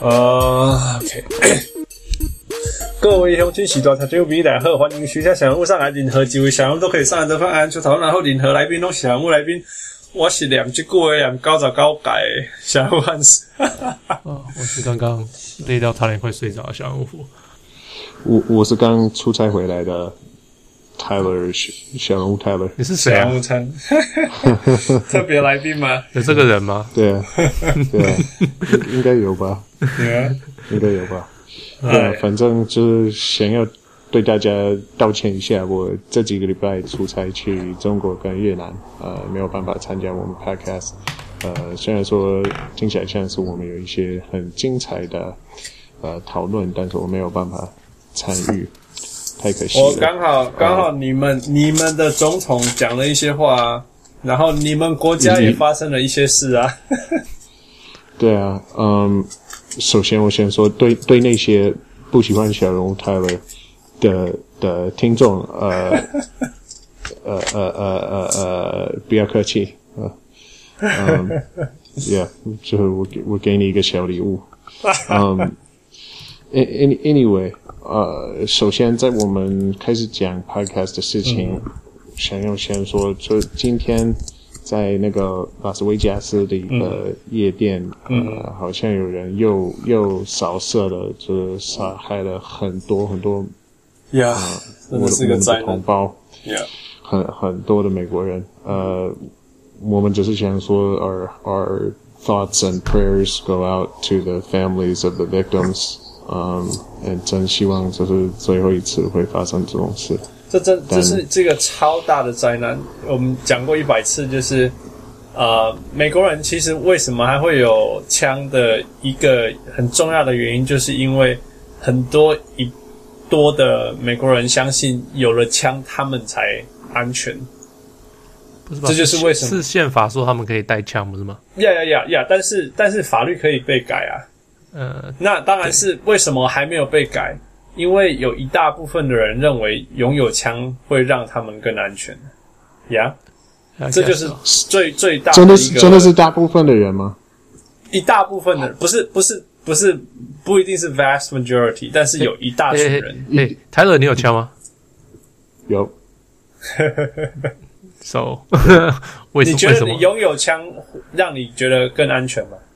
OK 各位鄉親時代讀者朋友大家好，歡迎徐家小人物上來，任何幾位小人物都可以上來得分按出討論，然後任何來賓都是小人物來賓。我是念這句話念99屆小人物漢斯。 我是剛剛累到差點快睡着的小人物。 我是剛出差回來的 Tyler 小人物 Tyler。 你是誰啊？ 小人物餐特別來賓嗎？ 有這個人嗎？ 對啊，對啊，應該有吧？ 對啊， 應該有吧？對啊，反正就是想要對大家道歉一下，我這幾個禮拜出差去中國跟越南，沒有辦法參加我們 podcast。雖然說聽起來像是我們有一些很精彩的討論，但是我沒有辦法參與，太可惜了。 我剛好你們的總統講了一些話啊，然後你們國家也發生了一些事啊。 對啊，首先我先說，對那些不喜歡小人物 Tyler 的听众，不要客氣，yeah， 就是我給你一個小禮物，anyway， 首先在我們開始講 podcast 的事情，想要先說，就今天在那個拉斯維加斯的一個夜店，好像有人又掃射了，就是殺害了很多真的是個災難， 我們的同胞，很多的美國人，我們只是想說 our thoughts and prayers go out to the families of the victims，真希望這是最後一次會發生這種事。這是這個超大的災難，我們講過100次，就是美國人其實為什麼還會有槍的一個很重要的原因，就是因為很多的美國人相信有了槍他們才安全。 不是吧？ 這就是為什麼是憲法說他們可以帶槍，不是嗎？ 但是法律可以被改啊。那當然是為什麼還沒有被改？因為有一大部分的人認為擁有槍會讓他們更安全。這就是最大的一個。 真的是大部分的人嗎？ 一大部分的人，不一定是 vast majority， 但是有一大群人。 Tyler， 你有槍嗎？ 有。 So， 你覺得你擁有槍讓你覺得更安全嗎？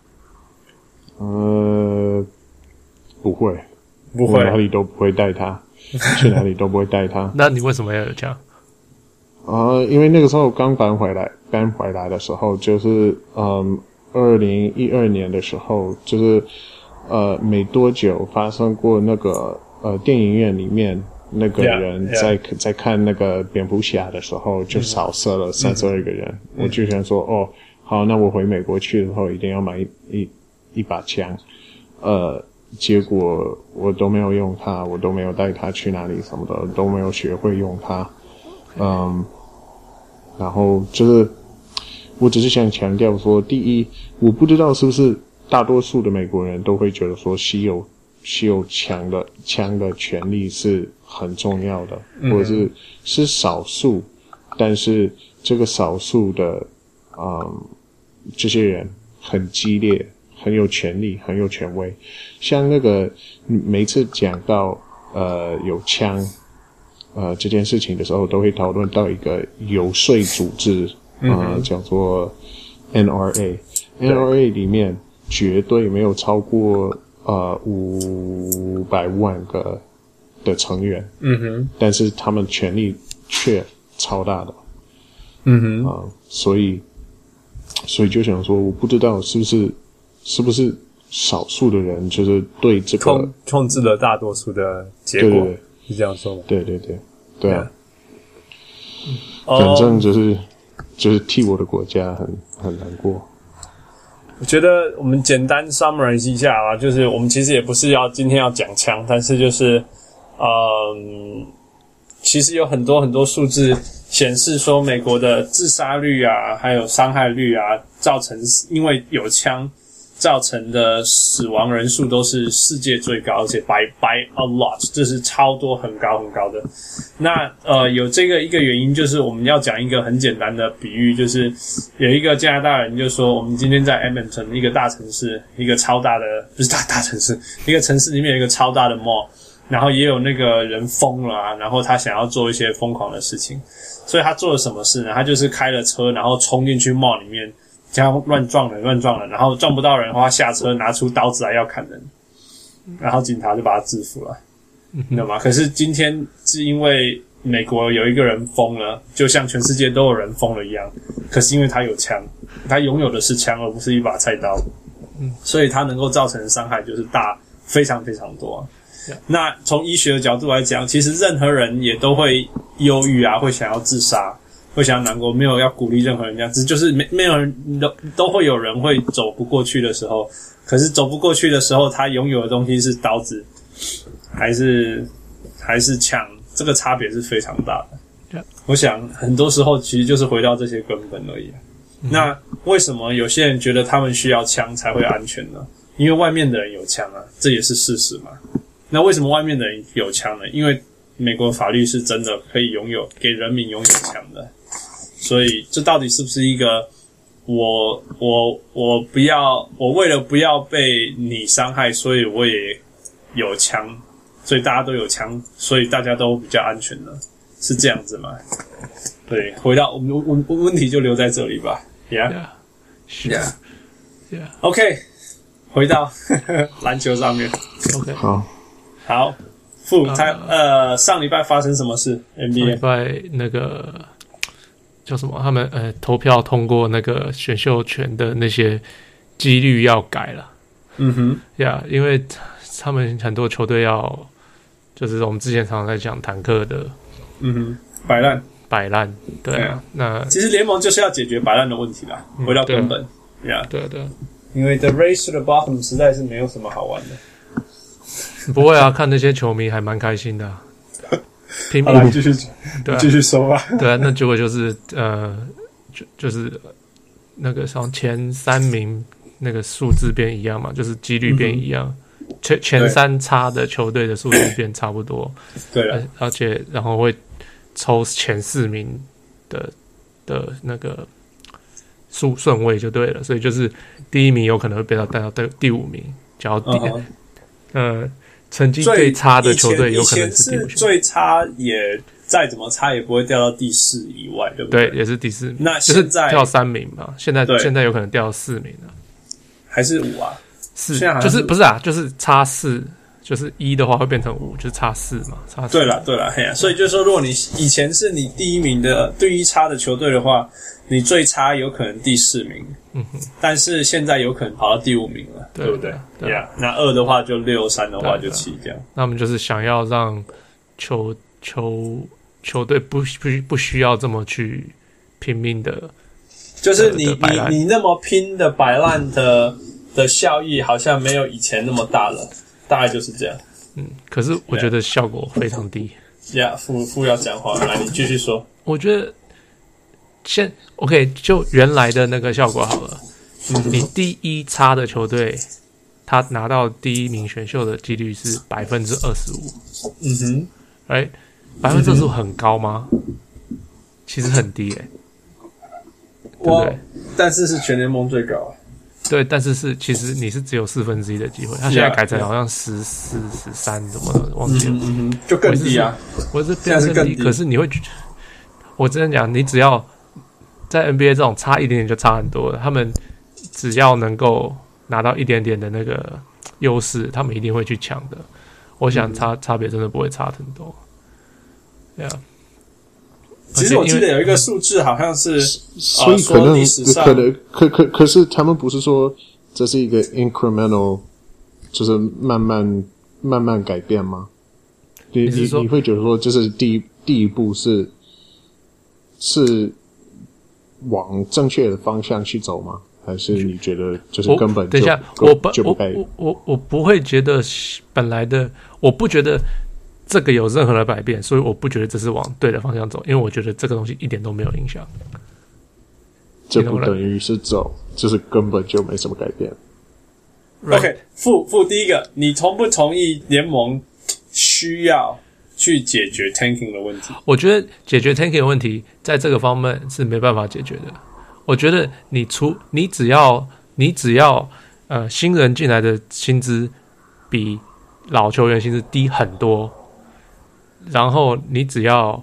不會，我哪裡都不會帶它，去哪裡都不會帶它。 那你為什麼要有槍？ 因為那個時候剛搬回來的時候，就是2012年的時候，就是沒多久發生過那個電影院裡面那個人在看那個蝙蝠俠的時候就掃射了32個人。我就想說，好，那我回美國去的時候一定要買一把槍。結果我都沒有用它，我都沒有帶它去哪裡什麼的，都沒有學會用它。然後就是我只是想強調說，第一，我不知道是不是大多數的美國人都會覺得說持有槍的權利是很重要的，或者是少數，但是這個少數的這些人很激烈，很有權力，很有權威。像那個每次講到有槍這件事情的時候，都會討論到一個遊說組織，叫做 NRA。NRA 裡面絕對沒有超過500萬個的成員，但是他們權力卻超大的，所以就想說，我不知道是不是少數的人就是對這個控制了大多數的結果，對，是這樣說嗎？ 對啊，反正就是替我的國家很難過。 我覺得我們簡單 summarize 一下啦，就是我們其實也不是今天要講槍，但是就是其實有很多數字顯示說，美國的自殺率啊，還有傷害率啊，造成因為有槍造成的死亡人數都是世界最高，而且 by a lot， 這是超多很高很高的。那有这个一個原因，就是我們要講一個很簡單的比喻，就是有一個加拿大人就說，我們今天在 Edmonton 一個大城市，一個超大的，不是大城市，一個城市裡面有一個超大的 mall， 然後也有那個人瘋了啊，然後他想要做一些瘋狂的事情，所以他做了什麼事呢？他就是開了車，然後衝進去 mall 裡面，這樣亂撞人，然後撞不到人的話，下車拿出刀子來要砍人，然後警察就把他制服了，你懂嗎？可是今天是因為美國有一個人瘋了，就像全世界都有人瘋了一樣，可是因為他有槍，他擁有的是槍，而不是一把菜刀，所以他能夠造成的傷害就是大非常非常多。那從醫學的角度來講，其實任何人也都會憂鬱啊，會想要自殺，會想要難過，沒有要鼓勵任何人這樣子，就是沒有人都會有人會走不過去的時候，可是走不過去的時候，他擁有的東西是刀子，還是槍，這個差別是非常大的。我想很多時候其實就是回到這些根本而已。那為什麼有些人覺得他們需要槍才會安全呢？因為外面的人有槍啊，這也是事實嘛。那為什麼外面的人有槍呢？因為美國法律是真的可以給人民擁有槍的。所以這到底是不是一個我為了不要被你傷害，所以我也有槍，所以大家都有槍，所以大家都比較安全呢？是這樣子嗎？對，回到我們問題就留在這裡吧。Yeah. OK， 回到籃球上面。 OK， 好， 上禮拜發生什麼事 ？NBA 上禮拜那個叫什麼？他們投票通過那個選秀權的那些幾率要改了。因為他們很多球隊要，就是我們之前常常在講坦克的，擺爛，對啊。那其實聯盟就是要解決擺爛的問題啦，回到根本。 對。 因為 the race to the bottom 實在是沒有什麼好玩的。 不會啊，看那些球迷還蠻開心的、啊，拼命。 繼續說吧。 對啊，那結果就是就是那個像前三名那個數字變一樣嘛，就是幾率變一樣，前三差的球隊的數字變差不多。對了，而且然後會抽前四名的那個順位就對了，所以就是第一名有可能會被他帶到第五名，假如成績最差的球隊有可能是第五名，最差也再怎麼差也不會掉到第四以外，對不对？ 對，也是第四名。 那現在就是掉3名嘛，現在有可能掉到4名了， 還是5啊？4 就是不是啊？就是差4，就是1的話會變成5，就是差4嘛，差4。 對了，嘿呀，所以就是說，如果你以前是你第一名的第一差的球隊的話，你最差有可能第4名，但是現在有可能跑到第5名了，對不對？對啊，那2的話就6， 3的話就7，這樣。 那我們就是想要讓球隊不需要這麼去拼命的， 就是你那麼拼的擺爛的效益好像沒有以前那麼大了，大概就是這樣。 可是我覺得效果非常低。 副要講話，來你繼續說。 我覺得OK， 就原來的那個效果好了。你第一差的球隊，他拿到第一名選秀的幾率是 25%。right， 25% 很高嗎？其實很低對不對？ 但是全聯盟最高。 對，但是其實你是只有1/4的機會，他現在改成好像14、13怎麼的，忘記了。 就更低啊！ 我是非常更低，可是你會，我真的講，你只要在 NBA 這種差一點點就差很多了，他們只要能夠拿到一點點的那個優勢，他們一定會去搶的。我想差別真的不會差很多。對啊。 其實我記得有一個數字，好像是， 所以可是他們不是說這是一個 incremental， 就是慢慢改變嗎？你會覺得說，就是第一步是往正確的方向去走嗎？還是你覺得就是根本就等一下，我不會覺得本來的，我不覺得這個有任何的改變，所以我不覺得這是往對的方向走，因為我覺得這個東西一點都沒有影響。 這不等於是走，就是根本就沒什麼改變。 OK， 負第一個，你同不同意聯盟需要去解決 tanking 的問題？ 我覺得解決 tanking 的問題，在這個方面是沒辦法解決的。我覺得你只要新人進來的薪資比老球員薪資低很多，然後你只要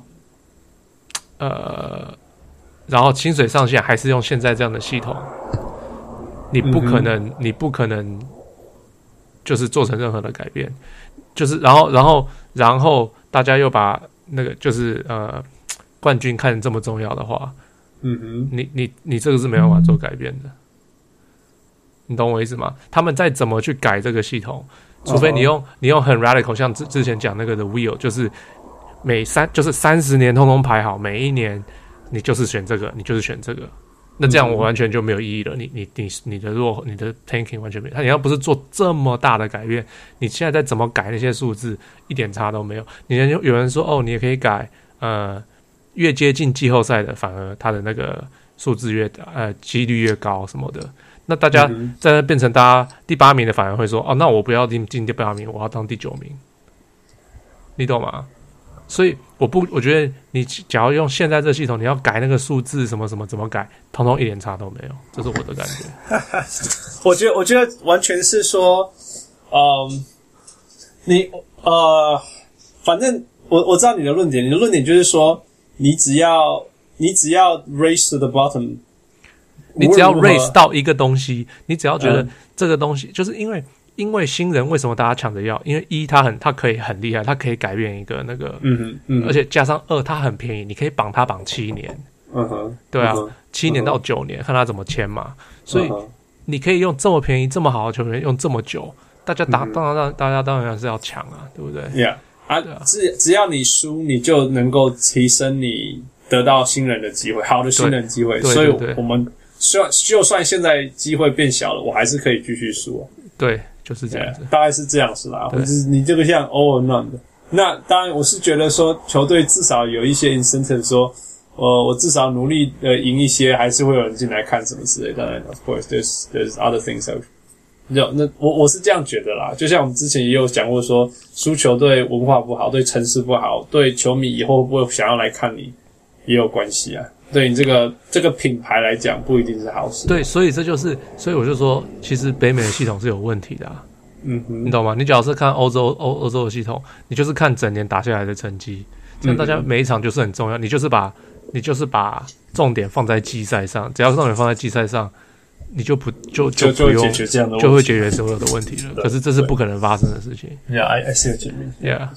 然後薪水上限還是用現在這樣的系統，你不可能就是做成任何的改變，就是然後大家又把那個就是冠軍看得這麼重要的話，你這個是沒辦法做改變的，你懂我意思嗎？他們再怎麼去改這個系統，除非你用很 radical， 像之前講那個的 wheel， 就是就是30年通通排好，每一年你就是選這個，你就是選這個，那這樣我完全就沒有意義了。你的 tanking 完全沒有。你要不是做這麼大的改变，你現在再怎麼改那些數字，一點差都沒有。有人說哦，你也可以改，越接近季後賽的，反而他的那個數字幾率越高什麼的。那大家在那变成大家第8名的，反而會說哦，那我不要進第8名，我要當第9名。你懂嗎？所以我覺得你假如用現在這個系統，你要改那個數字什麼什麼怎麼改，通通一點差都沒有，這是我的感覺。 我覺得完全是說，反正我知道你的論點，你的論點就是說，你只要 raise to the bottom， 你只要 raise 到一個東西，你只要覺得這個東西，就是因為新人為什麼大家搶着要？因為他可以很厲害，他可以改變一個那個，而且加上2，他很便宜，你可以綁他綁7年，對啊，7年到9年，看他怎麼簽嘛。所以你可以用這麼便宜、這麼好的球員用這麼久，大家當然是要搶啊，對不对 ？Yeah 啊，只要你輸，你就能夠提升你得到新人的機會，好的新人機會。所以我們就算現在機會變小了，我還是可以繼續輸。 對。就是這樣子， 大概是這樣子啦。或者是你這個像 all or none 的，那當然我是覺得說球隊至少有一些 incentive， 說，我至少努力贏一些，還是會有人進來看什麼之類的。當然 ，of course there's other things。那我是這樣覺得啦。就像我們之前也有講過說，輸球對文化不好，對城市不好，對球迷以後会不會想要來看你也有關係啊。對你這個品牌來講，不一定是好事。 對，所以我就說，其實北美的系統是有問題的啊。你懂嗎？你假如是看歐洲的系統，你就是看整年打下來的成績，这樣大家每一場就是很重要。你就是把重點放在季賽上，只要重點放在季賽上，你就不用解決這樣的問題， 就會解決所有的問題了。可是這是不可能發生的事情。 Yeah, I see what you mean. Yeah.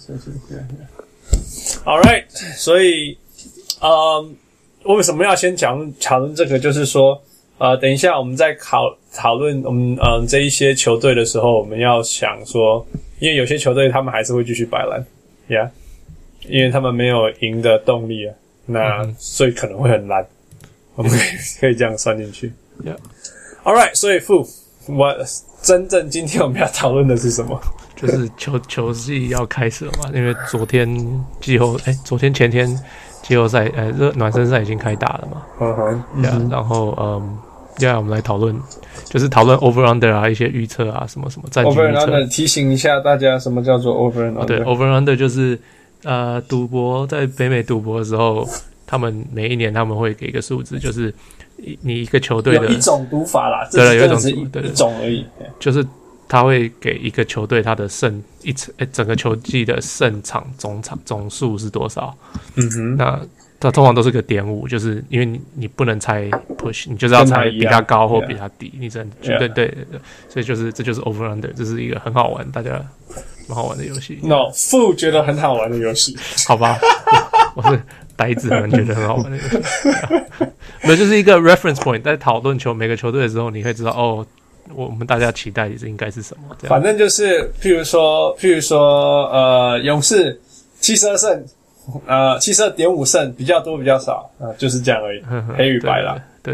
All right. 所以，為什麼要先討論這個？就是說，等一下我們在討論我們這一些球隊的時候，我們要想說，因為有些球隊他們還是會繼續擺爛 ，Yeah， 因為他們沒有贏的動力啊，那所以可能會很爛，我們可以這樣算進去。 Yeah. All right， 所以真正今天我們要討論的是什麼？ 就是球季要開始了嘛，因為昨天前天季後賽暖身賽已經開打了嘛。然後接下來我們來討論，就是討論 over under 啊，一些預測啊，什麼什麼戰績預測。over and under 提醒一下大家，什麼叫做 over and under？ 對 ，over and under 就是賭博，在北美賭博的時候，他們每一年他們會給一個數字，就是你一個球隊的有一種賭法啦， 对，有一種而已， 就是他會給一個球隊他的整個球季的勝場總數是多少？那它通常都是個.5，就是因為你不能猜 push， 你就是要猜比他高或比他低，你只能对，所以这就是 over under， 這是一個很好玩，大家蠻好玩的遊戲。 No， 負覺得很好玩的遊戲， 好吧，我是呆子們覺得很好玩的遊戲，沒有，就是一個 reference point， 在討論每個球隊的時候，你會知道哦，我們大家期待的應該是什麼？這樣， 反正就是譬如說勇士72勝。72.5勝，比較多比較少，就是這樣而已，黑與白啦。 對。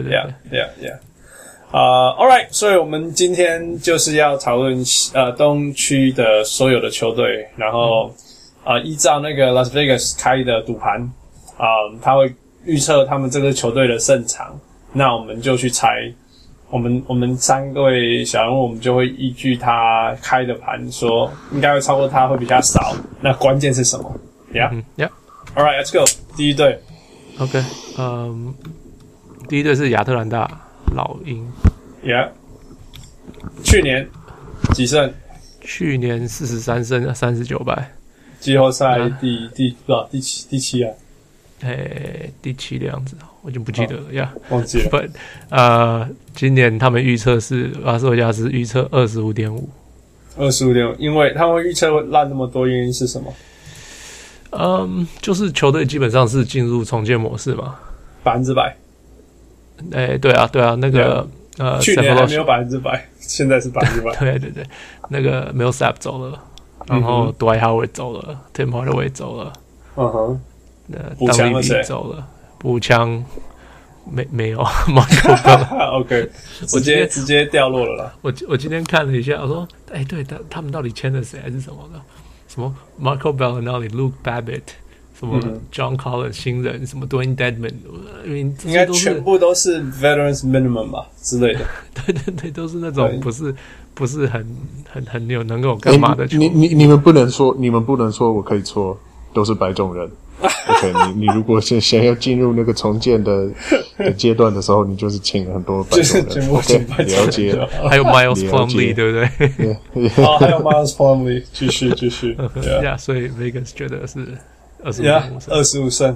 All right， 所以我們今天就是要討論東區的所有的球隊，然後依照那個 Las Vegas 開的賭盤，他會預測他們這個球隊的勝場，那我們就去猜我們三位小人物，我們就會依據他開的盤說，應該會超過他，會比較少。那關鍵是什麼 ？Yeah，All right, let's go。第一隊 ，OK， 第一隊是亞特蘭大老鷹 ，Yeah， 去年幾勝？ 去年43勝39敗， 季後賽第七啊？ 第七的樣子，我已經不記得了呀， 忘記了。 But 今年他們預測是拉斯維加斯預測25.5， 25.5，因為他們預測會爛那麼多，原因是什麼？ 就是球隊基本上是進入重建模式嘛 ，100%。 对啊，那个去年還沒有100%，現在是100%。 對，那個 Millsap 走了，然後 Dwight Howard 走了，Tim Hardaway 走了， 補強了誰？ 走了，補強沒有 Marco Bell OK， 直接掉落了啦。 我今天看了一下，我說，對，他們到底簽了誰還是什麼的？什麼 Marco Bell 那裡 Luke Babbitt， 什麼 John Collins 新人，什麼 Dwayne Dedman， 應該全部都是 Veterans Minimum 吧之類的。 對，都是那種不是很有能夠幹嘛的球。 你們不能說我可以錯，都是白種人。OK， 你如果是想要進入那個重建的階段的時候，你就是請了很多白種人。 全部請白種人。 了解。 還有 Miles Plumlee， 對不對？ 還有 Miles Plumlee， 繼續。 Yeah， 所以 Vegas 覺得是25 勝。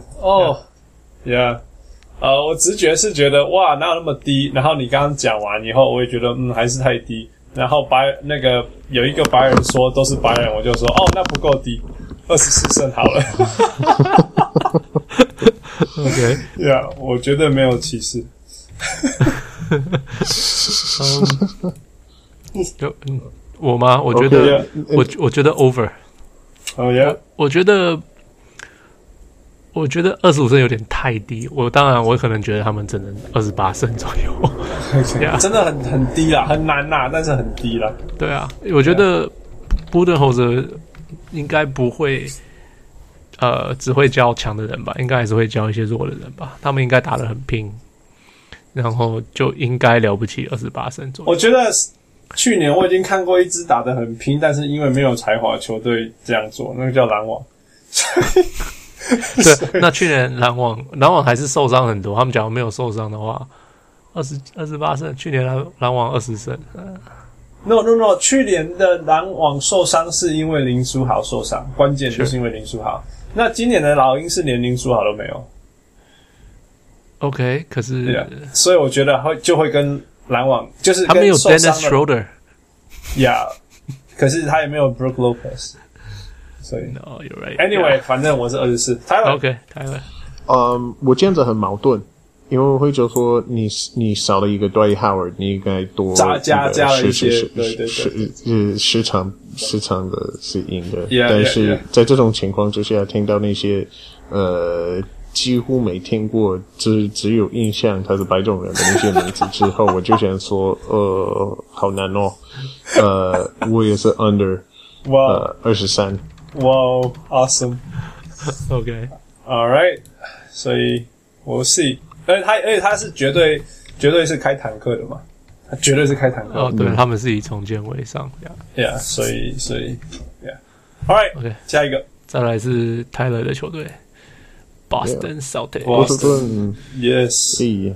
我直覺是覺得哇，哪有那麼低？然後你剛剛講完以後，我也覺得還是太低。然後那個有一個白人說都是白人，我就說那不夠低。24勝好了 ，OK， 我絕對沒有歧視。 我嗎？我覺得，我覺得 over。我覺得25勝有點太低。當然，我可能覺得他們只能28勝左右。 真的很低啦，很難啦，但是很低啦。 對啊，我覺得Budenholzer應該不會，只會教強的人吧，應該還是會教一些弱的人吧。他們應該打得很拼，然後就應該了不起28勝左右。 我覺得去年我已經看過一支打得很拼，但是因為沒有才華球隊這樣做，那個叫籃網。 對，那去年籃網還是受傷很多。他們假如沒有受傷的話，28勝。去年籃網20勝。 No， 去年的籃網受傷是因為林書豪受傷，關鍵就是因為林書豪。那今年的老鷹是連林書豪都沒有。 OK， 可是， 所以我覺得就會跟籃網就是跟他沒有 Dennis Schroeder， 可是他也沒有 Brook Lopez， 所以 No, you're right. Anyway， 反正我是24。Tyler， OK， Tyler， 我這樣子很矛盾。因為我會就說你少了一個 Dwight Howard， 你應該多加了一些對時常的是贏的。 但是在這種情況之下，聽到那些幾乎沒聽過，只有印象他是白種人的那些名字之後，我就想說好難哦。我也是 under 23。 Wow, awesome. OK, all right. 所以我是。而且他是絕對是開坦克的嘛，他絕對是開坦克的。 對，他們是以重建為上。 Yeah， 所以 ，All right， OK， 下一個， 再來是 Tyler 的球隊 ，Boston Celtics。 Boston Yes。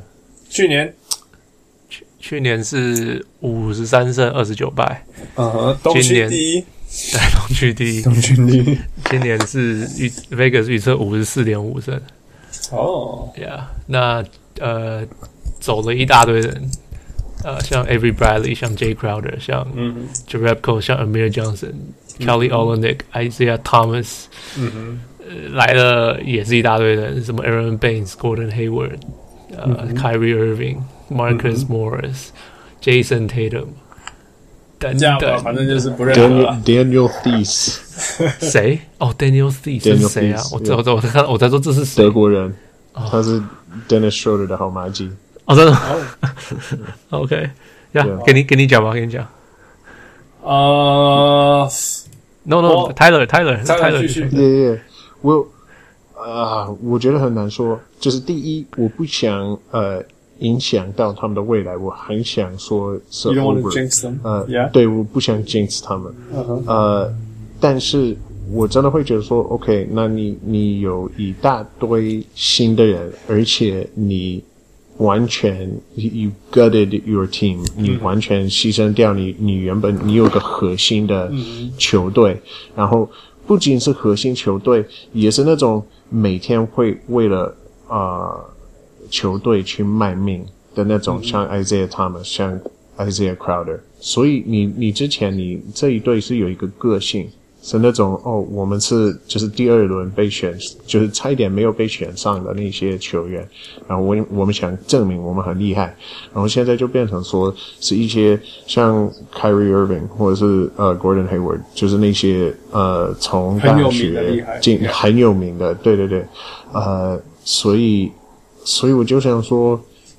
去年是53勝29敗。 東區第一。 對，東區第一。今年是Vegas 預測54.5勝。Yeah， 那走了一大堆人，像 Avery Bradley， 像 Jay Crowder， 像Jerebko， 像 Amir Johnson，Kelly Olynyk，Isaiah Thomas， 來了也是一大堆人，什麼 Aaron Baines，Gordon Hayward，Kyrie Irving，Marcus Morris，Jason Tatum， 等等， 反正就是不認識了。 Daniel Theis， 誰？Daniel Theis 是誰啊？我在說這是誰？ 德國人，他是 Dennis Schroeder 的好麻吉。 真的？OK， 給你講吧，給你講。No，Tyler 繼續。 我覺得很難說。就是第一，我不想影響到他們的未來，我很想說是 You don't want over to jinx them. Yeah. 對，我不想 jinx 他們。但是我真的會覺得說 ，OK， 那你有一大堆新的人，而且你完全 you gutted your team， 你完全犧牲掉你原本你有個核心的球隊，然後不僅是核心球隊，也是那種每天會為了球隊去賣命的那種，像 Isaiah Thomas， 像 Isaiah Crowder， 所以你之前你這一隊是有一個個性。是那種我们是就是第二輪被選，就是差一點沒有被選上的那些球員，然後我們想證明我們很厲害，然後現在就變成說是一些像 Kyrie Irving 或者是Gordon Hayward， 就是那些從大學進很有名的，對对对，所以我就想說，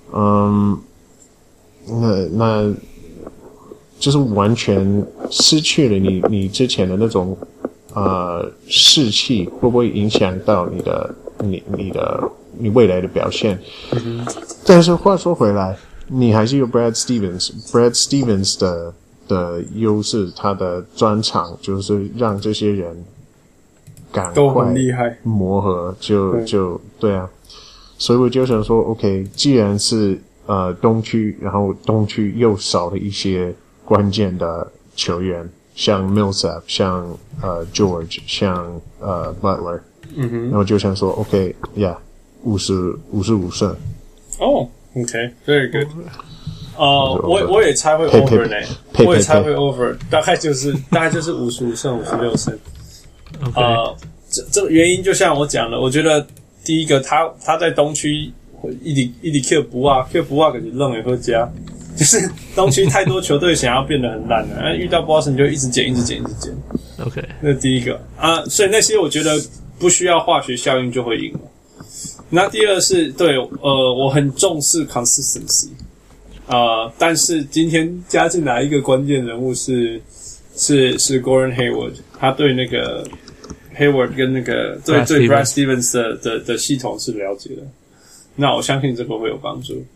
那就是完全失去了你之前的那種士氣，會不會影響到你未來的表現？但是話說回來，你還是有 Brad Stevens 的優勢，他的專長就是讓這些人趕快磨合，就對啊。所以我就想說 ，OK， 既然是東區，然後東區又少了一些關鍵的球員，像 Millsap， 像George， 像Butler， 然後就想說 OK， yeah， 55勝。 哦 ，OK，very good。我也猜會 over 呢，我也猜會 over， 大概就是55勝56勝。這個原因就像我講的，我覺得第一個他在東區一直 Q 不啊，可是愣也會加。就是東區太多球隊想要變得很爛了，遇到 Boston 就一直減。 OK， 那第一個所以那些我覺得不需要化學效應就會贏了。那第二是對我很重視 consistency， 但是今天加進來一個關鍵人物是 Gordon Hayward， 他對那個 Hayward 跟那個對 Brad Stevens 的系統是了解的，那我相信這個會有幫助。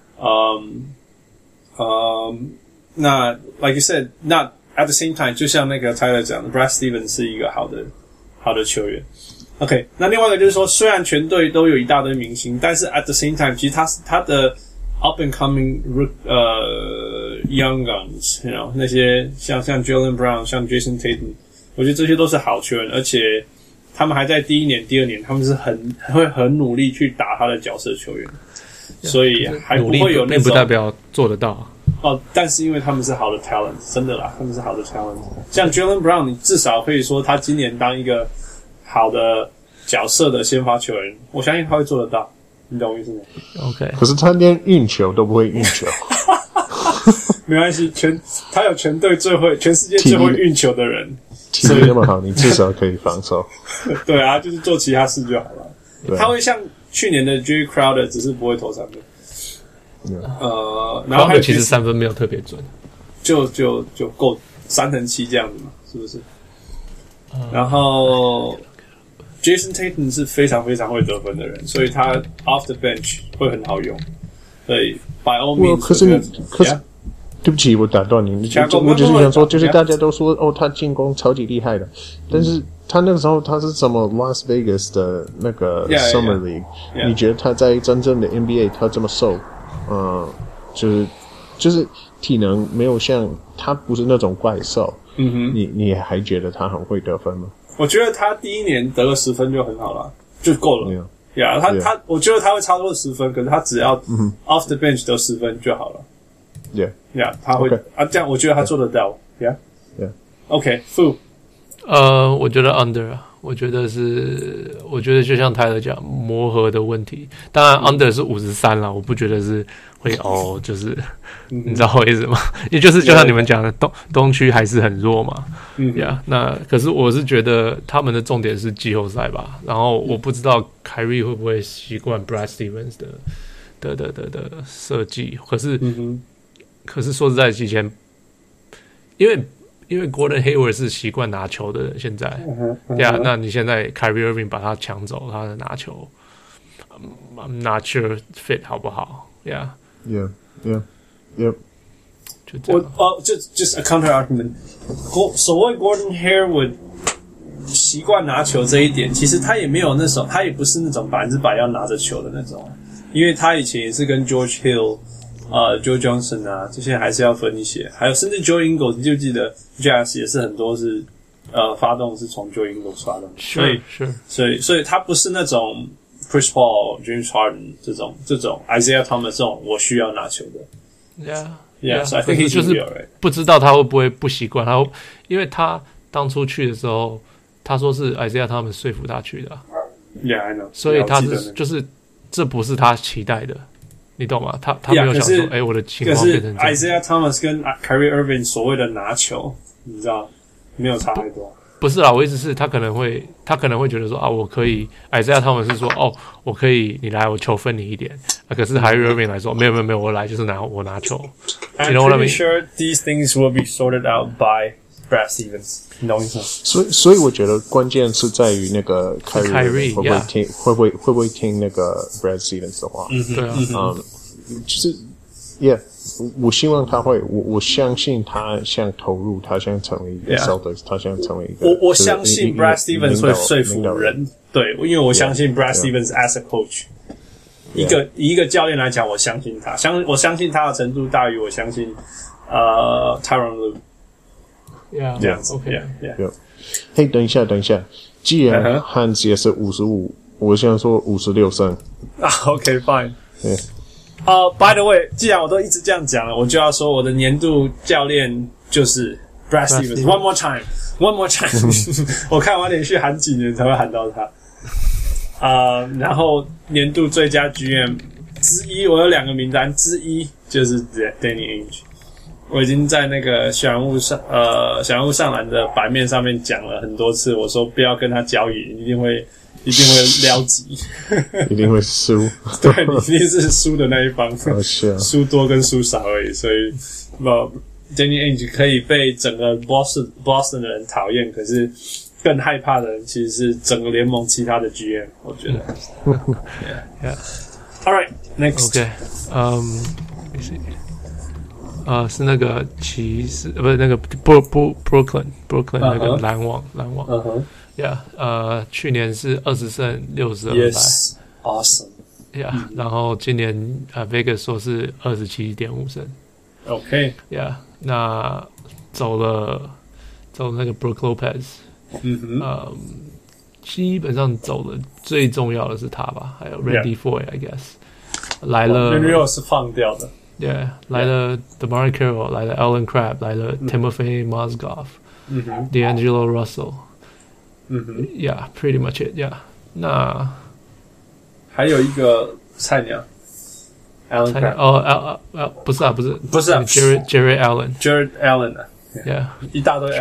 那 like you said， 那 at the same time， 就像那個 Tyler 講的 ，Brad Stevens 是一個好的球員。OK， 那另外一個就是說，雖然全隊都有一大堆明星，但是 at the same time， 其實他的 up and coming young guns， you know， 那些像 Jaylen Brown， 像 Jason Tatum， 我覺得這些都是好球員，而且他們還在第一年、第二年，他們是會很努力去打他的角色球員。所以還不會有那種，並不代表做得到但是因為他們是好的 talent， 真的啦，他們是好的 talent。像 Jaylen Brown， 你至少可以說他今年當一個好的角色的先發球員，我相信他會做得到。你懂我意思嗎 ？OK。 可是他連運球都不會運球。 沒關係，他有全世界最會運球的人， 體力那麼好，你至少可以防守。 對啊，就是做其他事就好了。他會像去年的 Jay Crowder， 只是不會投三分。然後還有其實三分沒有特別準， 就夠3乘7這樣子嘛，是不是？然後 Jason Tatum 是非常非常會得分的人，所以他 off the bench 會很好用。所以 by all means， 可是對不起，我打斷你。我只是想說，就是大家都說他進攻超級厲害的，但是他那個時候他是什麼 Las Vegas 的那個 Summer League， 你覺得他在真正的 NBA 他這麼瘦？就是體能沒有像他不是那種怪獸，你還覺得他很會得分嗎？ 我覺得他第一年得了10分就很好了，就夠了。他我覺得他會超過10分，可是他只要 off the bench 得10分就好了。他會這樣我覺得他做得到。OK， Fu， 我覺得 under 啊。我覺得就像泰勒講磨合的問題，當然 under 是53啦，我不覺得是會就是你知道我意思嗎？也就是就像你們講的東區還是很弱嘛，那可是我是覺得他們的重點是季後賽吧，然後我不知道凱瑞會不會習慣 Brad Stevens 的設計，可是說實在之前因為 Gordon Hayward 是習慣拿球的人，現在那你現在 Kyrie Irving 把他搶走，他的拿球，I'm not sure fit 好不好 ，Yeah， 就这样。 just a counter argument， 所謂 Gordon Hayward 習慣拿球這一點，其實他也沒有那種，他也不是那種100%要拿着球的那種，因為他以前也是跟 George Hill、Joe Johnson 啊這些還是要分一些，還有甚至 Joe Ingles， 你就記得 Jazz 也是很多是發動是從 Joe Ingles 發動，所以他不是那種 Chris Paul、James Harden 這種 Isaiah Thomas 這種我需要拿球的 ，Yeah，so I think he should be alright。 不知道他會不會不習慣，因為他當初去的時候，他說是 Isaiah Thomas 說服他去的 ，Yeah I know， 所以他是就是這不是他期待的。你懂嗎？他沒有想說，我的情況變成這樣。 可是 Isaiah Thomas 跟 Kyrie Irving 所謂的拿球，你知道沒有差太多。 不是啦，我意思是他可能會覺得說啊，我可以 Isaiah Thomas 是說我可以你來，我球分你一點啊。可是 Kyrie Irving 來說，沒有，我來就是我拿球。 I'm pretty sure these things will be sorted out by Brad Stevens。你懂我意思吗？ 所以我覺得關鍵是在於那個 Kyrie 會不會聽那個 Brad Stevens 的話？ 對啊， 就是 Yeah， 我希望他會，我相信他想投入，他想成為一個 Celtics， 他想成為一個。 我相信 Brad Stevens 會說服人，對，因為我相信 Brad Stevens as a coach， 以一個教練來講，我相信他，我相信他的程度大於我相信Tyronn Lue。Yeah， 這樣子 ，OK，Yeah。 嘿，等一下，既然漢斯也是55，我想說56勝。 OK fine。By the way， 既然我都一直這樣講了，我就要說我的年度教練就是 Brad Stevens。One more time 。我看我連續喊幾年才會喊到他。然後年度最佳 GM 之一，我有2個名單，之一就是 Danny Ainge。我已經在那個小人物上籃的版面上面講了很多次，我說不要跟他交易，一定會撩急， 一定會輸。 對，你一定是輸的那一方，輸多跟輸少而已。所以Danny Ainge 可以被整個 Boston 的人討厭，可是更害怕的人其實是整個聯盟其他的 GM， 我覺得。Yeah. All right, next. Okay. Let me see. 是那個騎士，不是那個 Brooklyn 那個籃網。去年是20勝62敗。 Yes, awesome. Yeah， 然後今年Vegas 說是27.5勝。 OK. Yeah， 那走了那個 Brook Lopez。基本上走了最重要的是他吧，還有 Randy Foye，I guess 來了。 Randy Foye 是放掉的。 Yeah， 來了 DeMar Carroll， 來了 Allen Crabbe， 來了 Timofey Mozgov，D'Angelo Russell。Yeah， pretty much it。Yeah， 那還有一個菜鳥 ，Allen Crabbe。 不是啊 ，Jared Allen 啊。Yeah， 一大堆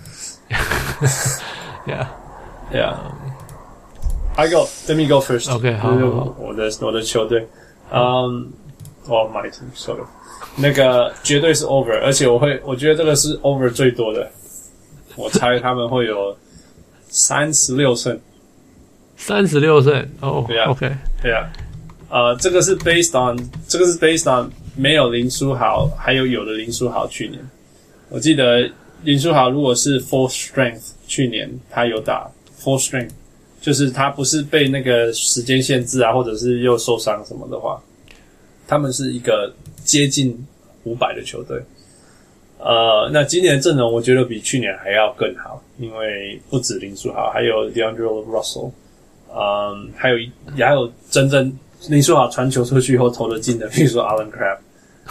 Allen。Let me go first. OK， 好。 我的球隊，my team sorry， 那個絕對是 over， 而且我覺得這個是 over 最多的，我猜他們會有36勝。 36勝哦 ，OK， 對啊，這個是 based on 沒有林書豪，還有的林書豪去年，我記得林書豪如果是 full strength， 去年他有打 full strength， 就是他不是被那個時間限制啊，或者是又受傷什麼的話。他們是一個接近500的球隊，那今年的陣容我覺得比去年還要更好，因為不止林書豪，還有 D'Angelo Russell， 還有真正林書豪傳球出去以後投得進的，比如說 Allen Crabbe，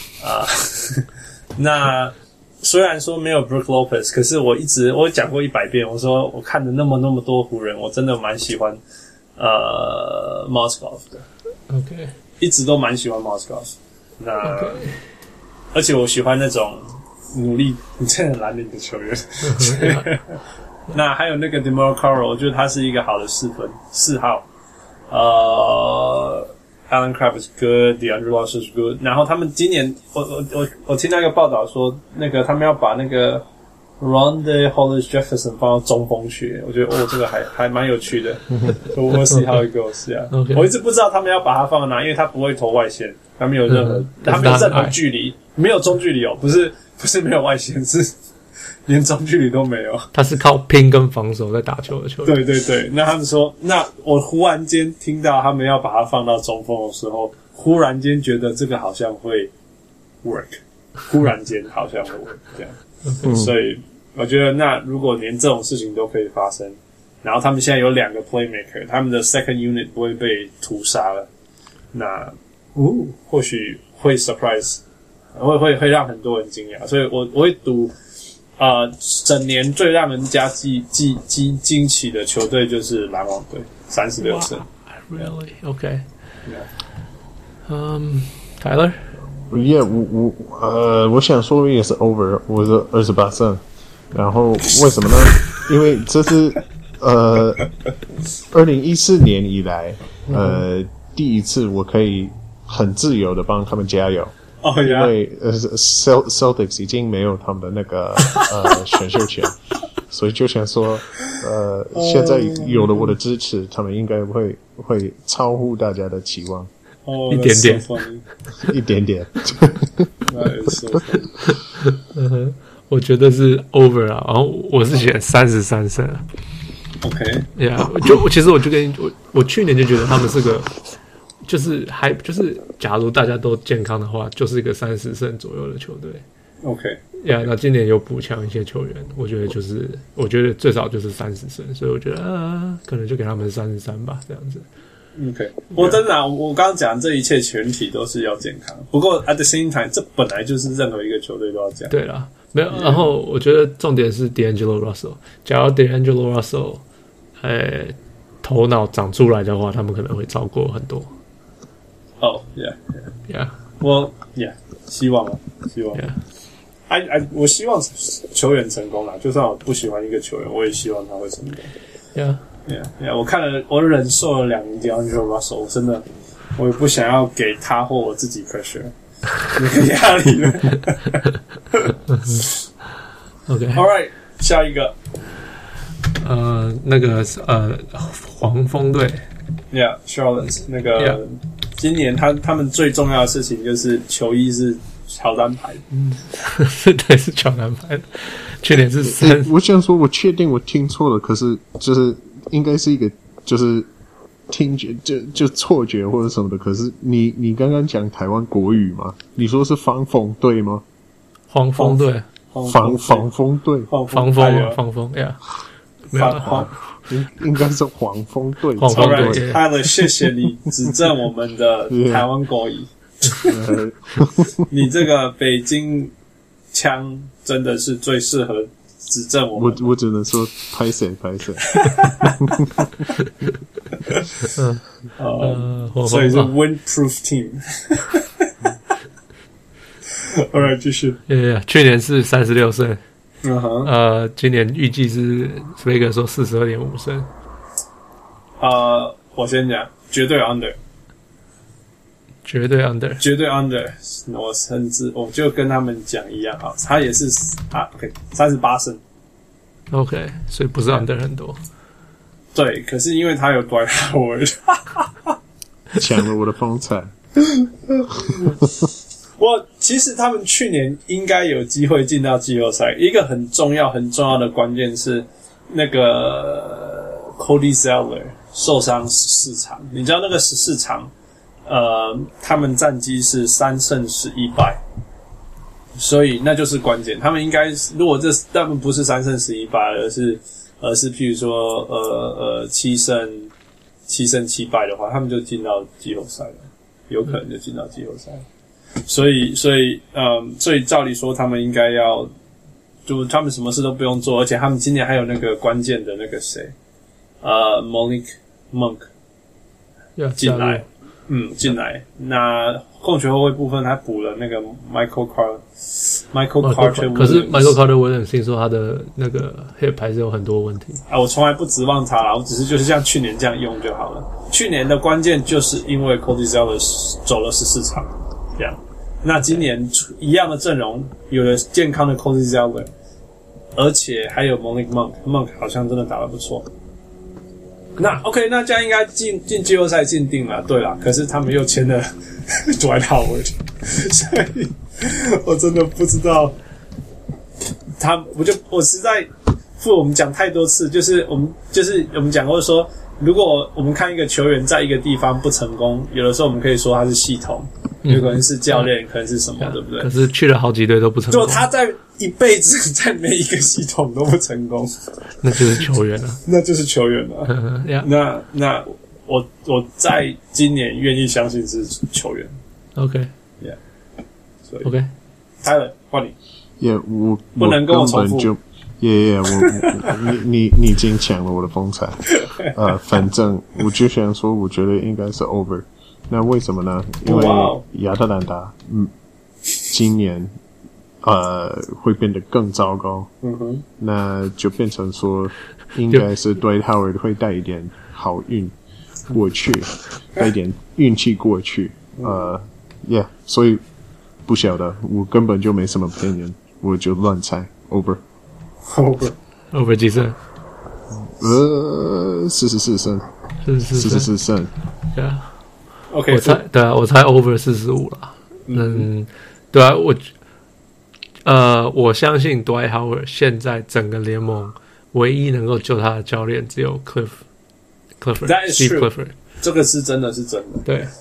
那雖然說沒有 Brook Lopez， 可是我講過100遍，我說我看了那麼多湖人，我真的蠻喜歡Mozgov 的。 OK。 一直都蠻喜歡 Mozgov， 而且我喜歡那種努力、真的藍領的球員。那還有那個 DeMar Carroll， 我覺得他是一個好的4號。Allen Crabbe is good， D'Angelo Russell is good。然後他們今年，我聽那個報道說，那個他們要把那個 Rondé Hollis-Jefferson 放到中鋒去，我觉得这个還蠻有趣的。We'll see how it goes， Okay. 我一直不知道他們要把它放到哪，因為他不會投外線，他沒有任何，他沒有任何距離，沒有中距離哦，不是沒有外線，是連中距離都沒有。 他是靠拼跟防守在打球的球員。 對對對，那他們說，那我忽然間聽到他們要把它放到中鋒的時候，忽然間覺得這個好像會 work， 忽然間好像會 work 這樣。所以我覺得，那如果連這種事情都可以發生，然後他們現在有2個 playmaker， 他們的 second unit 不會被屠殺了，那或許會 surprise， 會讓很多人驚訝。所以我會賭，整年最讓人家驚奇的球隊就是籃網隊，36勝。 Really? Okay. Tyler? Yeah, 我想說也是 over， 我是28勝。然後為什麼呢？因為這是2014年以來第一次我可以很自由的幫他們加油。 Oh, yeah. 因為Celtics 已經沒有他們的那個選秀權，所以就想說現在有了我的支持，他們應該會超乎大家的期望。 一點點， so 一點點。 So 我覺得是 over 啊，然後我是寫33勝。 OK， 其實我就跟我去年就覺得他們是個，就是假如大家都健康的話，就是一個30勝左右的球隊。 OK， 那今年有補強一些球員，我覺得最少就是30勝，所以我覺得可能就給他們33吧，這樣子。 OK， 我真的我剛剛講這一切前提都是要健康，不過 at the same time， 這本來就是任何一個球隊都要這樣。 對啦，沒有。然後我覺得重點是 D'Angelo Russell， 假如 D'Angelo Russell， 頭腦長出來的話，他們可能會超過很多。 Yeah， 我 Yeah， 希望。Yeah， 我希望球員成功啦，就算我不喜歡一個球員，我也希望他會成功。Yeah， 我看了，我忍受了2年 D'Angelo Russell， 真的，我也不想要給他或我自己 pressure， 那個壓力了。OK，All right， 下一個， 那個黃蜂隊 ，Charlotte 那個，今年他們最重要的事情就是球衣是喬丹牌的， 對，是喬丹牌的。去年是3， 我想說，我確定我聽錯了，可是就是應該是一個就是聽覺就錯覺或者什麼的。可是你剛剛講台灣國語嗎？你說是防風隊嗎？ 黃蜂隊， 防風隊， 防風呀，沒有， 應該是黃蜂隊。 黃蜂隊， 好了，謝謝你指正我們的台灣國語。你這個北京腔真的是最適合指正我們。 我只能說拍謝。 所以是 windproof team。Alright， 繼續。 去年是36勝。今年預計是飛哥說42.5勝。 我先講，絕對 under。 絕對 under， 我甚至我就跟他們講一樣啊，他也是OK 38勝 ，OK， 所以不是 under 很多。 對，可是因為他有 Dwight Howard， 搶了我的風采。 其實他們去年應該有機會進到季後賽，一個很重要的關鍵是那個 Cody Zeller 受傷14場，你知道那個14場。他們戰績是3勝11敗，所以那就是關鍵。他們應該如果他們不是3勝11敗，而是譬如說7勝7敗的話，他們就進到季後賽了，有可能就進到季後賽。所以照理說他們應該要，就他們什麼事都不用做，而且他們今年還有那個關鍵的那個誰，Malik Monk 進來。進來。那控球後衛部分，他補了那個 Michael Carter。 可是 Michael Carter Williams 聽說他的那個 hip 還是有很多問題。 我從來不指望他啦，我只是就是像去年這樣用就好了。去年的關鍵就是因為 Cody Zeller 走了14場，這樣。那今年一樣的陣容，有了健康的 Cody Zeller， 而且還有 Malik Monk 好像真的打得不錯。那 OK， 那这樣應該進季後賽進定了，對啦。可是他們又簽了 Dwight Howard， 所以我真的不知道我實在我們講太多次，就是我們講過說，如果我們看一個球員在一個地方不成功，有的時候我們可以說他是系統，有可能是教練，可能是什麼，對不對？ 可是去了好幾隊都不成功， 就他在一輩子在每一個系統都不成功， 那就是球員了， 那就是球員了。 yeah. 那我在今年願意相信是球員。 OK，Yeah， 所以 OK， Tyler 換你。 我不能跟我重複。 你已經搶了我的風采。反正我就想說，我覺得應該是 over。那為什麼呢？因為亞特蘭大，今年會變得更糟糕。那就變成說，應該是Dwight Howard會帶一點好運過去，帶一點運氣過去。所以不曉得，我根本就沒什麼opinion，我就亂猜 over 幾勝 ？44勝，44勝。 對啊 ，OK， 我猜 over 45啦。對啊，我相信 Dwight Howard 現在整個聯盟唯一能夠救他的教練只有 Steve Clifford， 這個是真的是真的。 對，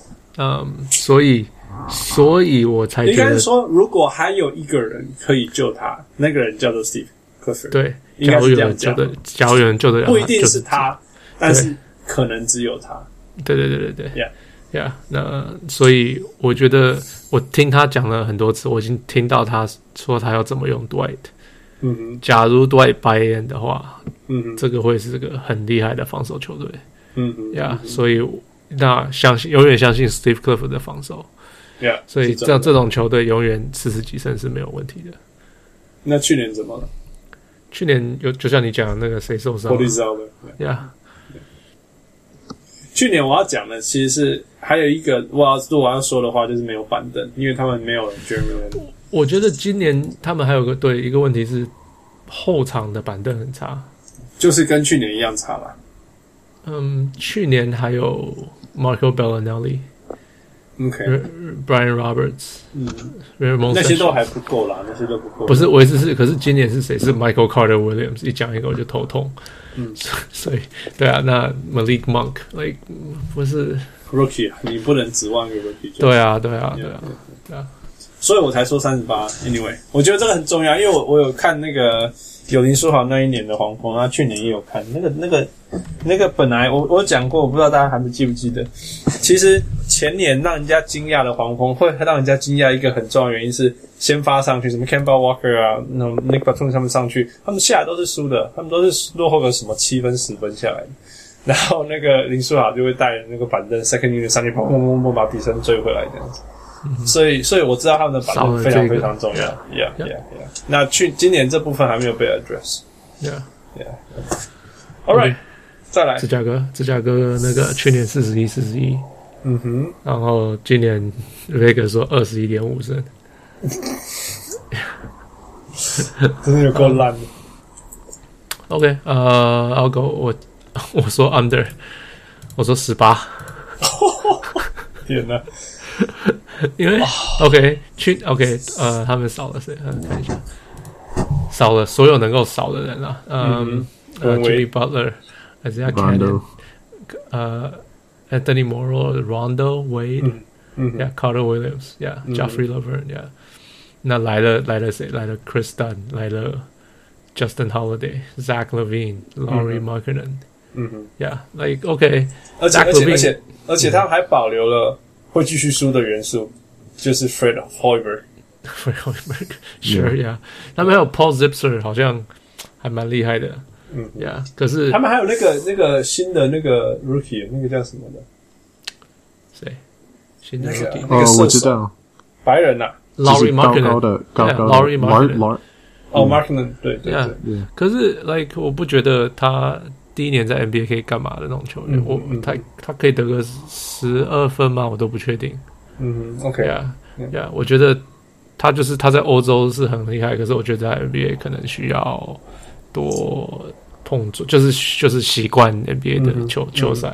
所以我才覺得， 應該是說，如果還有一個人可以救他，那個人叫做 Steve Clifford。 對， 應該是這樣講。 假如有人救得了他， 不一定是他，但是可能只有他。 對 ，Yeah， 那所以我覺得，我聽他講了很多次，我已經聽到他說他要怎麼用 Dwight。假如 Dwight buy in 的話，這個會是個很厲害的防守球隊。所以那永遠相信 Steve Clifford 的防守。所以這種球隊永遠40幾勝是沒有問題的。 那去年怎麼了？ 去年就像你講的那個誰受傷了？ 去年我要講的其實是還有一個我要說的話，就是沒有板凳，因為他們沒有 Jeremy Lin。 我覺得今年他們還有一個問題是後場的板凳很差， 就是跟去年一樣差啦。 去年還有 Marco Bellinelli。Brian Roberts， 那些都還不夠啦，那些都不夠。 不是，我意思是，可是今年是誰？是 Michael Carter Williams， 一講一個我就頭痛。所以對啊，那 Malik Monk， 不是 rookie， 你不能指望一個 rookie。 對啊。 所以我才說38。Anyway， 我覺得這個很重要，因為我有看那個有林書豪那一年的黃蜂，他去年也有看那個本來我講過，我不知道大家還記不記得。其實前年讓人家驚訝的黃蜂，會讓人家驚訝一個很重要的原因是先發上去，什麼 Kemba Walker 啊，那 Nick Batum 他們上去，他們下來都是輸的，他們都是落後個什麼7分10分下來的。然後那個林書豪就會帶那個板凳 second unit 上去跑，把比分追回來這樣子。所以我知道他們的板凳非常非常重要。Yeah。那今年這部分還沒有被 address。All right， 再來。芝加哥那個去年41-41。然後今年 Vegas 說21.5勝。真的有夠爛的。OK，I'll go， 我說 under， 我說18。 天哪！因為他們少了誰？看一下，少了所有能夠少的人啊。Jimmy Butler、Isaiah Cannon、Anthony Morrow、Rondo、Wade、Carter Williams、Joffrey Laverne。那來了誰？來了 Chris Dunn， 來了 Justin Holiday、Zach Levine、Lauri Markkanen。OK， 而且他们還保留了會繼續輸的元素，就是 Fred Hoiberg。Sure， 他們還有 Paul Zipser， 好像還蠻厲害的。可是他們還有那個新的那個 Rookie， 那個叫什麼的？ 誰？新的 Rookie？ 我知道， 白人啊 ，Lauri Markkanen。Lauri Markkanen， 对。 可是我不覺得他第一年在 NBA 可以幹嘛的那種球員，他可以得個12分嗎？我都不確定。 OK， 我覺得他在歐洲是很厲害，可是我覺得在 NBA 可能需要多碰觸，就是習慣 NBA 的球賽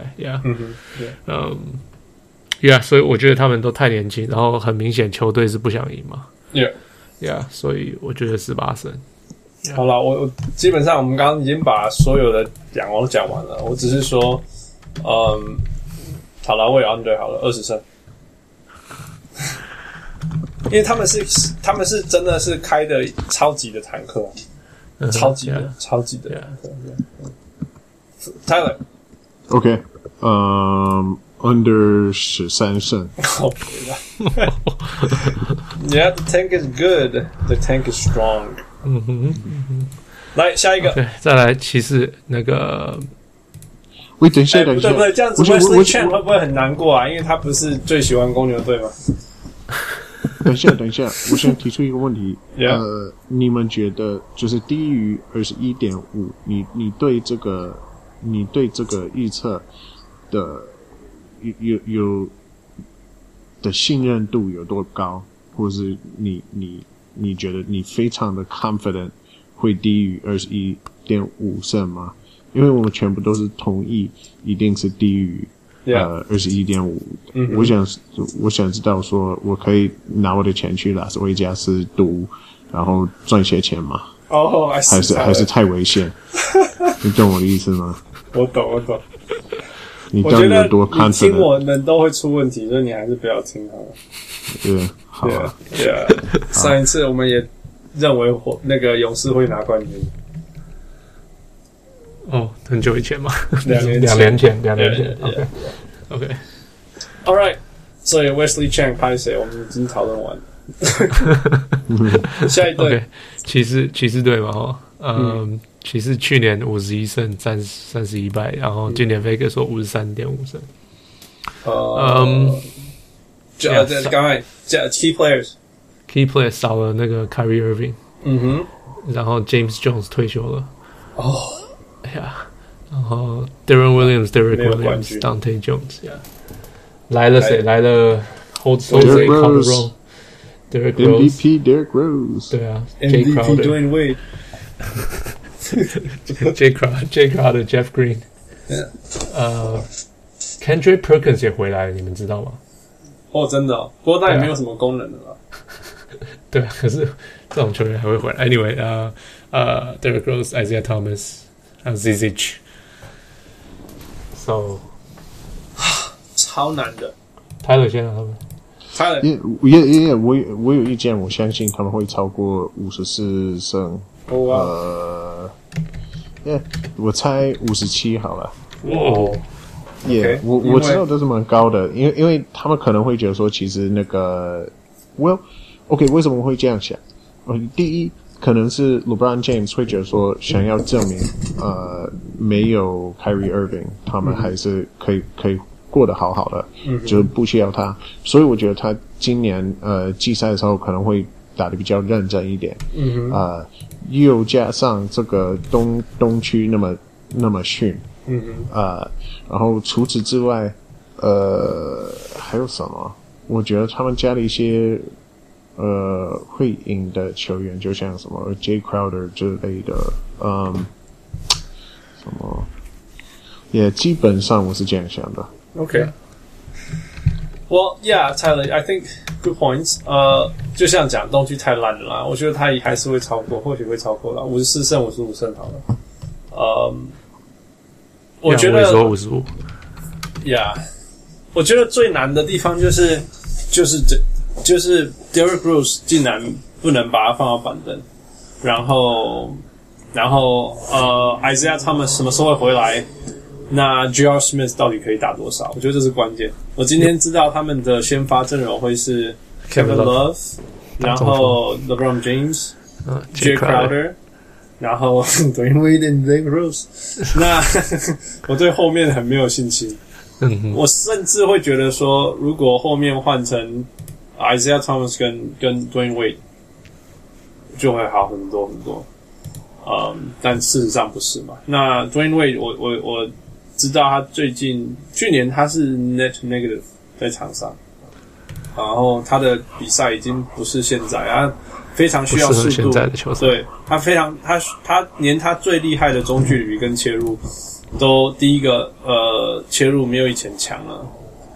，Yeah，所以我覺得他們都太年輕，然後很明顯球隊是不想贏嘛 ，Yeah，所以我覺得18勝。 好了，我基本上我們刚剛已經把所有的我都講完了，我只是說，好了，我也 under 好了20勝。因為他們是真的是開的超級的坦克，超級的坦克。 Tyler，OK， under 13勝。 Yeah, the tank is good. The tank is strong. 來下一個， 再來骑士那個。 喂，等一下， 不对，這樣子 Wesley Chen 會不會很難過啊？因為他不是最喜歡公牛隊嗎？ 等一下，我想提出一個問題。你們覺得就是低於 21.5， 你对這個預測的有的信任度有多高？或是你覺得你非常的 confident 會低於 21.5 勝嗎？因為我們全部都是同意一定是低於21.5。我想知道說我可以拿我的錢去拉斯維加斯賭，然後賺些錢嗎？還是太危險？你懂我的意思嗎？ 我懂。 你到底有多 confident？ 你聽我們都會出問題，所以你還是不要聽好了。 對，好啊。 上一次我們也認為那個勇士會拿冠軍。 很久以前嘛 ，2年前。 OK. All right. 所以 Wesley Chen 拍誰？我們已經討論完了。下一隊， okay, 骑士隊嘛，騎士去年51勝31敗，然後今年 Vegas 說53.5勝。 剛才 Key players 少了那個 Kyrie Irving， 然後 James Jones 退休了。然後 Derek Williams、Dante Jones， 來了誰？來了 Jose Calderon、Derek Rose、MVP Derek Rose， 對啊 ，MVP Dwayne Wade，Jay Crowder、Jeff Green，Kendrick Perkins 也回來了，你們知道嗎？ 真的不過他也沒有什麼功能的啦。 對啊，可是這種球員還會回來。Anyway， Derrick Rose、Isaiah Thomas， 還有 ZZ。So， 超難的。 Tyler 先啊，他們。 Tyler，我有意見，我相信他們會超過54勝。我猜57好了。我知道這是蠻高的，因為他們可能會覺得說，其實那個 OK， 為什麼會這樣想？第一，可能是 LeBron James 會覺得說，想要證明沒有 Kyrie Irving， 他們還是可以過得好好的，就是不需要他。所以我覺得他今年季賽的時候可能會打得比較認真一點。又加上這個東區那麼遜。然後除此之外，還有什麼？我覺得他們家的一些會贏的球員，就像什麼 Jay Crowder 之類的，什麼，也基本上我是這樣想的。 Okay. Well, yeah, Tyler, I think good points. 就像講東區太爛了啦，我覺得他還是會超過，或許會超過啦，54勝55勝好了。我覺得 55 ，Yeah， 我覺得最難的地方就是 Derrick Rose 竟然不能把他放到板凳，然後Isaiah Thomas 什麼時候會回來？那 J.R. Smith 到底可以打多少？我覺得這是關鍵。我今天知道他們的先發陣容會是 Kevin Love， 然後 LeBron James、Jay Crowder。然後 Dwayne Wade and Derrick Rose， 那我對後面很沒有信心。我甚至會覺得說，如果後面換成 Isaiah Thomas 跟 Dwayne Wade， 就會好很多很多。但事實上不是嘛。那 Dwayne Wade， 我知道他去年他是 net negative 在場上。 然後他的比賽已經不是現在啊，非常需要速度。 现在的球赛， 对他非常他连他最厲害的中距離跟切入都第一个切入沒有以前強了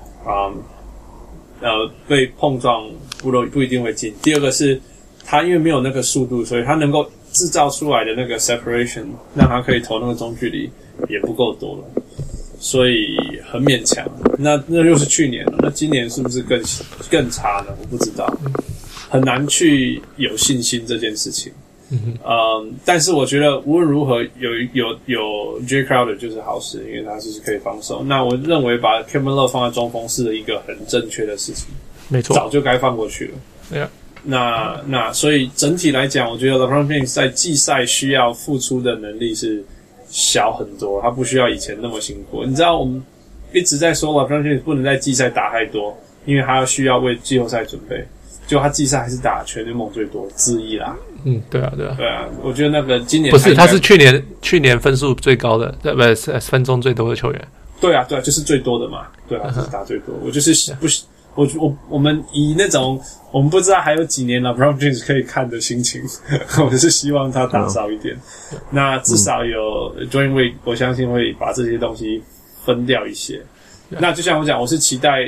被碰撞不一定會進。第二個是他因為沒有那個速度，所以他能夠製造出來的那個 separation 讓他可以投那個中距離也不夠多了，所以很勉強。那又是去年了，那今年是不是更差呢？我不知道，很難去有信心這件事情。但是我覺得無論如何有 Jay Crowder 就是好事，因為他就是可以防守。那我認為把 Kevin Love 放在中鋒是一個很正確的事情， 沒錯， 早就該放過去了。 對啊。 那所以整體來講，我覺得 LeBron James 在季賽需要付出的能力是小很多，他不需要以前那麼辛苦。你知道我們一直在說 LeBron James 不能在季賽打太多，因為他需要為季後賽準備。結果他季賽還是打全聯盟最多之一啦。 對啊。 對啊，我覺得那個今年不是，他是去年分數最高的，不是分鐘最多的球員。對啊， 就是最多的嘛。對啊，就是打最多。我就是不是。我們以那種我們不知道還有幾年了 LeBron James 可以看的心情，我就是希望他打少一點。那至少有 Dwayne Wade 我相信會把這些東西分掉一些。那就像我講，我是期待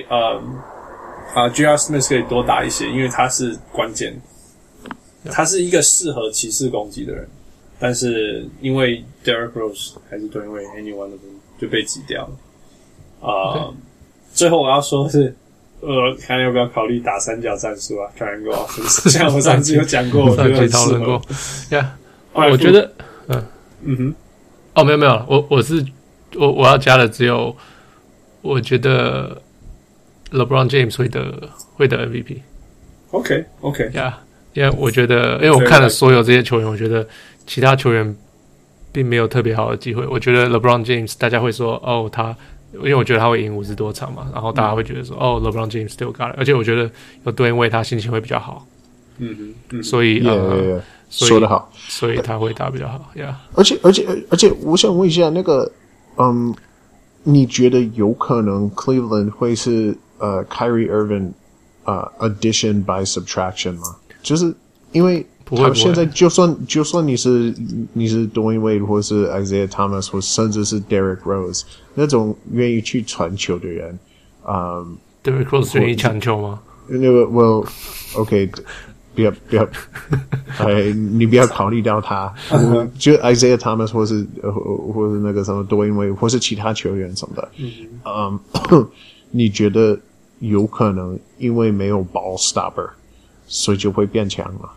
J.R. Smith 可以多打一些，因為他是關鍵，他是一個適合騎士攻擊的人，但是因為 Derrick Rose 還是 Dwayne Wade any one of them 就被擠掉了。最後我要說的是看要不要考慮打三角戰術啊 ，Triangle Offense， 像我上次有講過，我覺得很適合。 我覺得，沒有，我要加的只有，我覺得 LeBron James 會得 MVP。OK， 因為我覺得，因為我看了所有這些球員，我覺得其他球員並沒有特別好的機會。我覺得 LeBron James 大家會說，因為我覺得他會贏50多場嘛，然後大家會覺得說LeBron James still got it， 而且我覺得有Dwayne Wade他心情會比較好，所以說得好， 所以他會打比較好， 而且我想問一下那個，你覺得有可能 Cleveland 會是Kyrie Irving addition by subtraction 嗎？就是因為他現在就算你是 Dwayne Wade 或是 Isaiah Thomas 或甚至是 Derrick Rose 那種願意去傳球的人 ，Derrick Rose 願意搶球嗎？ 那個 Well OK 不要你不要考慮到他就 Isaiah Thomas 或是那個什麼 Dwayne Wade 或是其他球員什麼的你覺得有可能因為沒有 ball stopper 所以就會變強嗎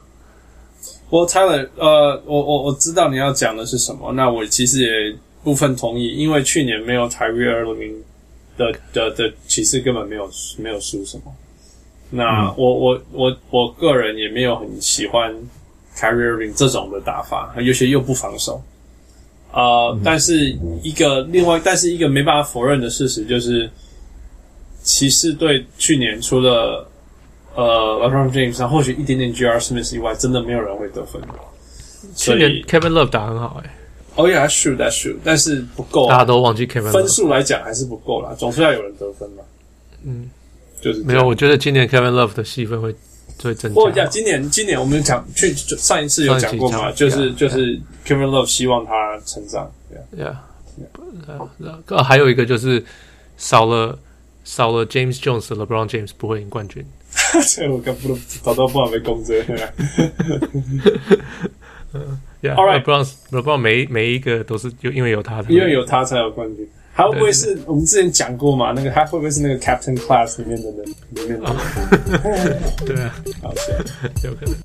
？Tyler， 我知道你要講的是什麼，那我其實也部分同意，因為去年沒有 Kyrie Irving 的騎士根本沒有輸什麼。那我個人也沒有很喜歡 Kyrie Irving 這種的打法，有些又不防守。但是一個沒辦法否認的事實就是騎士隊去年除了LeBron James 或許一點點 J.R. Smith 以外，真的沒有人會得分。 去年 Kevin Love 打很好 yeah, that's true， 但是不夠， 大家都忘記 Kevin Love。分數來講還是不夠啦，總是要有人得分嘛。就是沒有，我覺得今年 Kevin Love 的戲份會增加。 今年我們講上一次有講過嘛，就是 Kevin Love 希望他成長。 還有一個就是少了 James Jones 的 LeBron James 不會贏冠軍。 這我剛早都不好被攻擊。 LeBron 每一個都是因為有他的， 因為有他才有冠軍。還會不會是我們之前講過嘛？那個他會不會是那個 Captain Class 裡面的人？裡面的人？對啊，好笑，有可能。